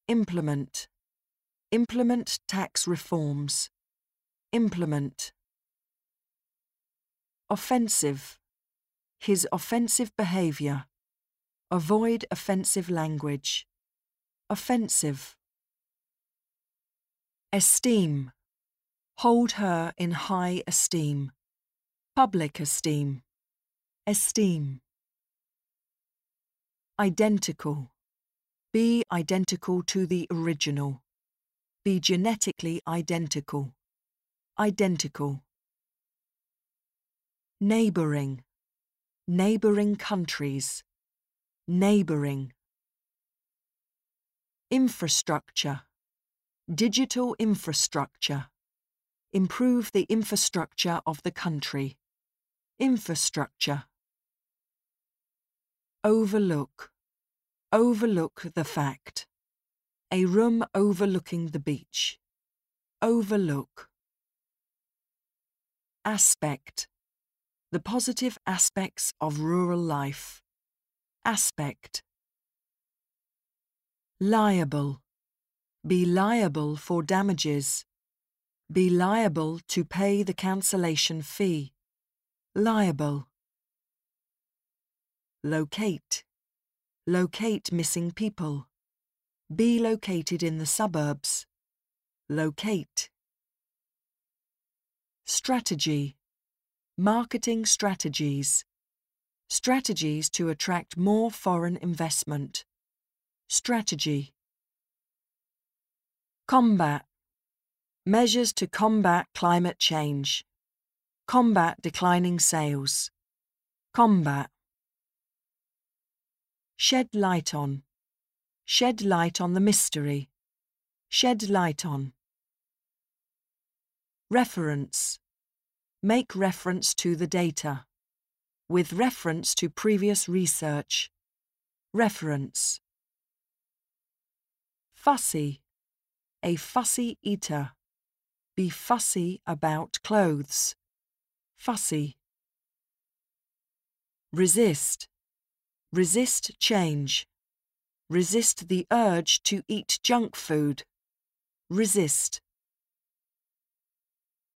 Implement. Implement tax reforms. Implement. Offensive. His offensive behaviour. Avoid offensive language. Offensive. Esteem. Hold her in high esteem. Public esteem. Esteem. Identical. Be identical to the original. Be genetically identical. Identical. Neighbouring. Neighbouring countries. Neighbouring. Infrastructure. Digital infrastructure. Improve the infrastructure of the country. Infrastructure. Overlook. Overlook the fact. A room overlooking the beach. Overlook. Aspect. The positive aspects of rural life. Aspect. Liable. Be liable for damages. Be liable to pay the cancellation fee. Liable. Locate. Locate missing people. Be located in the suburbs. Locate. Strategy. Marketing strategies. Strategies to attract more foreign investment. Strategy. Combat. Measures to combat climate change. Combat declining sales. Combat. Shed light on. Shed light on the mystery. Shed light on. Reference. Make reference to the data. With reference to previous research. Reference. Fussy. A fussy eater. Be fussy about clothes. Fussy. Resist. Resist change. Resist the urge to eat junk food. Resist.